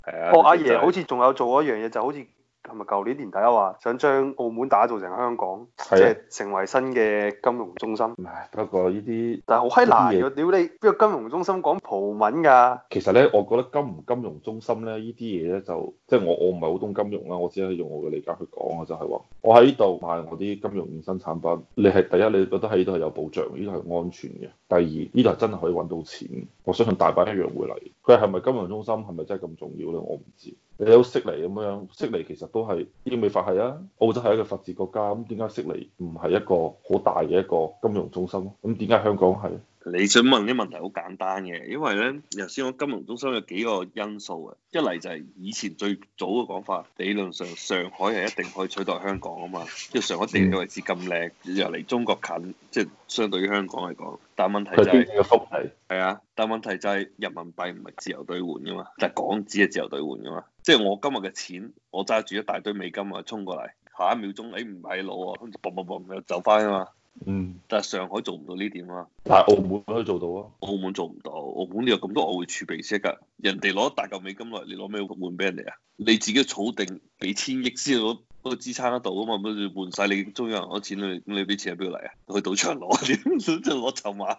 係啊， 哦，阿佢就係爺好似仲有做一樣嘢，就好似係咪舊年年底啊話想將澳門打造成香港，即係啊係成為新嘅金融中心。 唉，不過呢啲但係好閪難呢啲嘢嘅，屌你邊個金融中心講葡文㗎？ 其實咧，我覺得金唔金融中心咧，呢啲嘢咧就即係我唔係好懂金融啦，我只係用我嘅理解去講啊，就係話我喺呢度賣我啲金融衍生產品，你係第一，你覺得喺呢度係有保障，呢度係安全嘅；第二，呢度係真係可以揾到錢，我相信大把一樣會嚟。佢係咪金融中心，係咪真係咁重要咧？我唔知。你都悉尼咁樣，悉尼其實都係英美法係啊，澳洲係一個法治國家，咁點解悉尼唔係一個好大嘅一個金融中心？咁點解香港係？ 你想問啲問題好簡單嘅，因為咧，頭先講金融中心有幾個因素啊。一嚟就係以前最早嘅講法，理論上上海係一定可以取代香港啊嘛，因為上海地理位置咁靚，又離中國近，即係相對於香港嚟講。但問題就係嘅福利係啊，但問題就係人民幣唔係自由兌換噶嘛，但係港紙係自由兌換噶嘛。即係我今日嘅錢，我揸住一大堆美金啊，衝過嚟，下一秒鐘，唔係路啊，跟住嘣嘣嘣又走翻啊嘛。 嗯， 但係上海做唔到呢點啊， 但係澳門可以做到啊。 澳門做唔到，澳門你有咁多外匯儲備先㗎，人哋攞大嚿美金落嚟，你攞咩換俾人哋啊？你自己儲定幾千億先攞嗰個支撐得到啊嘛，咁你換晒你中央銀行錢，你啲錢喺邊度嚟啊？去賭場攞點？即係攞籌碼。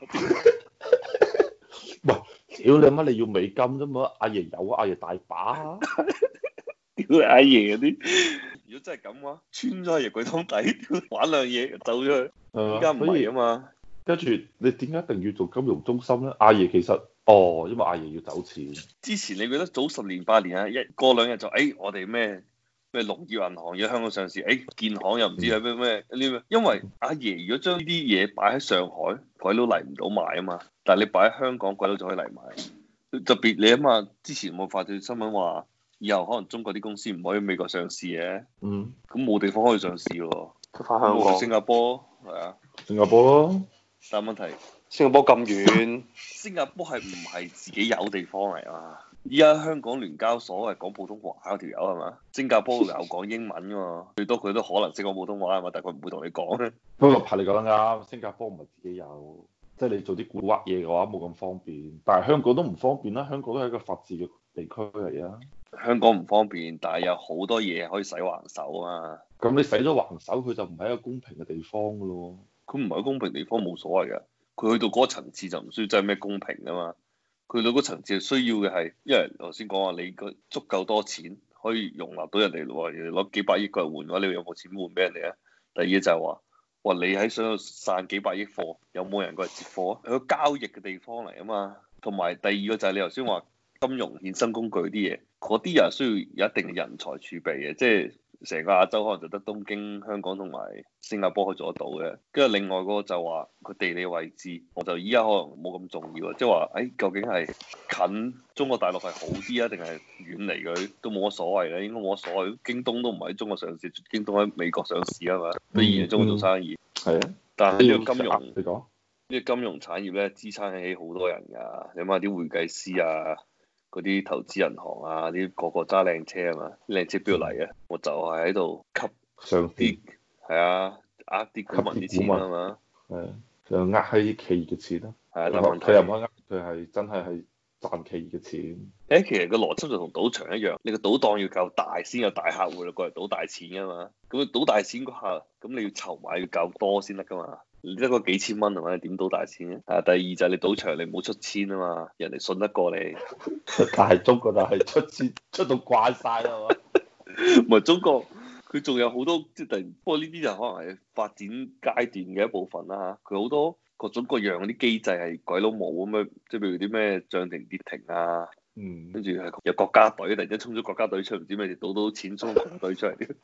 喂，屌你乜？你要美金啫嘛？阿爺有啊，阿爺大把啊。 屌你阿爺嗰啲！如果真係咁嘅話，穿咗阿爺櫃桶底，玩兩嘢走咗去。依家唔係啊嘛。 跟住你點解一定要做金融中心咧？阿爺其實因為阿爺要走錢。 之前你記得早十年八年啊，一過兩日就我哋咩農業銀行要香港上市，建行又唔知係咩咩，因為阿爺如果將呢啲嘢擺喺上海，鬼佬嚟唔到買啊嘛。但係你擺喺香港，鬼佬就可以嚟買。特別你啊嘛，之前冇發條新聞話，以後可能中國啲公司唔可以美國上市嘅。 嗯。 咁冇地方可以上市喎。 翻香港。 新加坡係啊。 新加坡咯。 但係問題， 新加坡咁遠， 新加坡係唔係自己有地方嚟啊？依家香港聯交所係講普通話嗰條友係嘛？新加坡又講英文㗎嘛？最多佢都可能識講普通話係嘛？但係佢唔會同你講。 不過係你講得啱，新加坡唔係自己有，即係你做啲古惑嘢嘅話冇咁方便。但係香港都唔方便啦，香港都係一個法治嘅地區嚟啊。 香港唔方便，但係有好多嘢可以使橫手啊嘛。 咁你使咗橫手，佢就唔係一個公平嘅地方㗎咯。 佢唔係公平地方冇所謂嘅，佢去到嗰個層次就唔需要真係咩公平啊嘛。佢去到嗰個層次需要嘅係，因為頭先講話你個足夠多錢可以容納到人哋喎，人哋攞幾百億過嚟換嘅話，你有冇錢換俾人哋啊？第二就係話，哇！你喺想度散幾百億貨，有冇人過嚟接貨啊？係個交易嘅地方嚟啊嘛。同埋第二個就係你頭先話金融衍生工具啲嘢，嗰啲人需要有一定嘅人才儲備嘅，即係。成個亞洲可能就得東京、香港同埋新加坡可以做得到嘅，跟住另外嗰個就話佢地理位置，我就依家可能冇咁重要啊，即係話究竟係近中國大陸係好啲啊，定係遠離佢都冇乜所謂咧，應該冇乜所謂。京東都唔喺中國上市，京東喺美國上市啊嘛，都依然喺中國做生意。 係啊， 但係呢個金融， 你講呢個金融產業咧，支撐起好多人㗎，你諗下啲會計師啊。嗰啲投資銀行啊，啲個個揸靚車啊嘛，靚車邊度嚟啊？我就係喺度吸上啲， 係啊，呃啲股民啲錢啊嘛， 係就呃喺企業嘅錢咯。 係啊，但問題佢又唔可以呃，佢係真係賺企業嘅錢。 其實個邏輯就同賭場一樣，你個賭檔要夠大先有大客戶過嚟賭大錢噶嘛，咁賭大錢嗰下，咁你要籌碼要夠多先得噶嘛。你得個幾千蚊係咪？點賭大錢咧？第二就係你賭場你唔好出千啊嘛，人哋信得過你。 但係中國就係出錢出到慣晒啦嘛。 唔係中國，佢仲有好多即係突然，不過呢啲就可能係發展階段嘅一部分啦。佢好多各種各樣嗰啲機制係鬼佬冇咁樣，即係譬如啲咩漲停跌停啊，跟住係有國家隊突然間衝咗國家隊出，唔知咩賭到錢衝國家隊出嚟。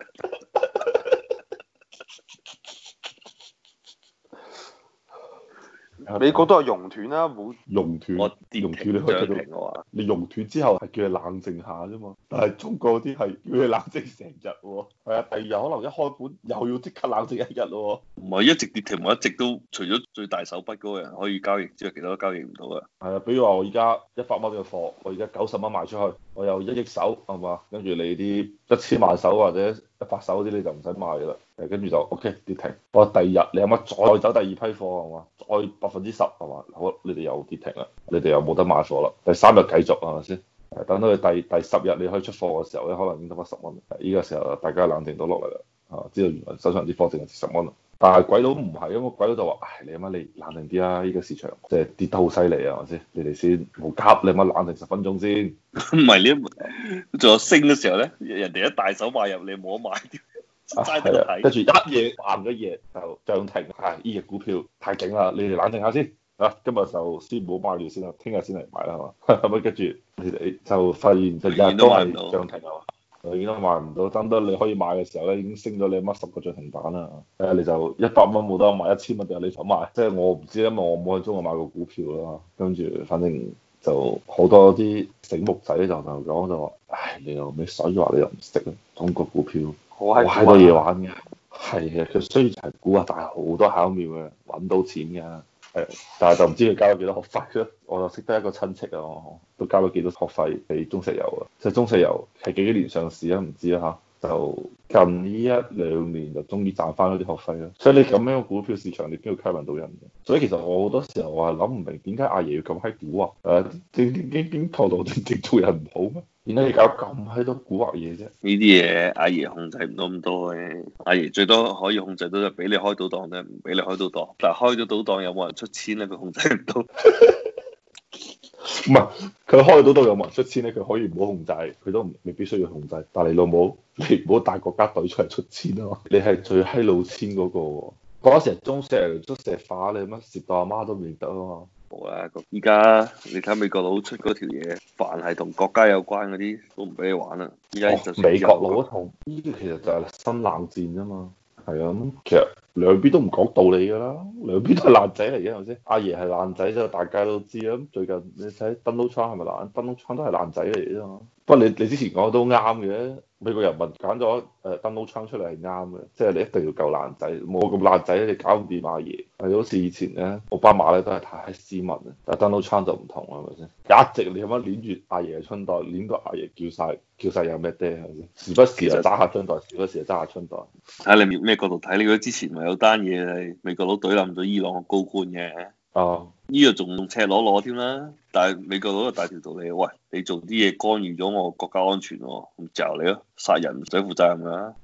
美國都有熔斷啦，冇熔斷， 我熔斷你可以睇到。 我話你熔斷之後係叫你冷靜下啫嘛，但係中國啲係叫你冷靜成日喎。係啊，第二日可能一開盤又要即刻冷靜一日喎。 唔係一直跌停，我一直都除咗最大手筆嗰個人可以交易之外，其他都交易唔到嘅。 係啊，比如話我而家100蚊嘅貨，我而家90蚊賣出去，我有1億手係嘛，跟住你啲1000萬手或者100手嗰啲你就唔使賣㗎啦。跟住就 OK 跌停。我第二日你有乜再走第二批貨係嘛？再10%係嘛？好，你哋又跌停啦，你哋又冇得買貨啦。第3日繼續係咪先？ 等到你第10日你可以出貨嘅時候咧，可能已經得翻10蚊。呢個時候大家冷靜到落嚟啦，知道原來手上啲貨淨係值10蚊啦。但係鬼佬唔係，因為鬼佬就話：唉，你阿媽你冷靜啲啊！依個市場即係跌得好犀利啊，係咪先？你哋先冇急，你阿媽冷靜10分鐘先。 唔係你仲有升嘅時候咧，人哋一大手買入，你冇得買，齋得睇。 跟住一夜橫咗夜就漲停，係呢隻股票太勁啦！你哋冷靜下先。今日就先唔好買住先啦，聽日先嚟買啦，係嘛？咁啊，跟住你哋就發現就日日都係漲停啊嘛，永遠都買唔到。等到你可以買嘅時候咧，已經升咗你乜10個漲停板啦。你就100蚊冇得買，1000蚊定係你想買？即係我唔知，因為我冇喺中國買過股票啦。跟住反正就好多啲醒目仔就同我講就話：唉，你又咩水話你又唔識啊？中國股票好多嘢玩嘅，係啊，佢雖然係估啊，但係好多巧妙嘅，揾到錢㗎。但係就唔知佢交咗幾多學費咯。我就識得一個親戚啊，都交咗幾多學費俾中石油啊。即係中石油係幾年上市啊？唔知啊嚇。就近呢1-2年就終於賺翻嗰啲學費啦。所以你咁樣嘅股票市場，你邊度吸引到人嘅？所以其實我好多時候我係諗唔明點解阿爺要咁閪蠱惑？點頭腦正做人唔好咩？點解要搞咁閪多蠱惑嘢啫？ 呢啲嘢阿爺控制唔到咁多嘅，阿爺最多可以控制到就俾你開賭檔啫，唔俾你開賭檔。但係開咗賭檔有冇人出錢咧？佢控制唔到。 唔係佢開賭檔有冇人出錢咧？佢可以唔好控制，佢都未必需要控制。但係你老母，你唔好帶國家隊出嚟出錢啊嘛！你係最閪老千嗰個喎。嗰時中石化你乜蝕到阿媽都唔認得啊嘛！ 冇啦，依家你睇美國佬出嗰條嘢，凡係同國家有關嗰啲都唔俾你玩啦。依家就美國佬嗰套，呢啲其實就係新冷戰啫嘛。係啊，咁其實兩邊都唔講道理㗎啦，兩邊都係爛仔嚟嘅，係咪先？阿爺係爛仔就大家都知啦。咁最近你睇 Donald Trump 係咪爛？Donald Trump 都係爛仔嚟嘅啫嘛。不過你之前講都啱嘅，美國人民揀咗Donald Trump 出嚟係啱嘅，即係你一定要夠爛仔，冇咁爛仔你搞唔掂阿爺。係好似以前咧，奧巴馬咧都係太斯文啊，但係 Donald Trump 就唔同啦，係咪先？一直你咁樣捏住阿爺嘅春袋，捏到阿爺叫晒有咩爹係咪先？時不時就揸下春袋，時不時就揸下春袋。 睇你咩角度睇？你覺得之前咪有單嘢係美國佬懟冧咗伊朗個高官嘅？ 哦， 呢個仲赤裸裸添啦，但係美國佬就大條道理，喂，你做啲嘢干預咗我國家安全喎，咁就你咯，殺人唔使負責任㗎。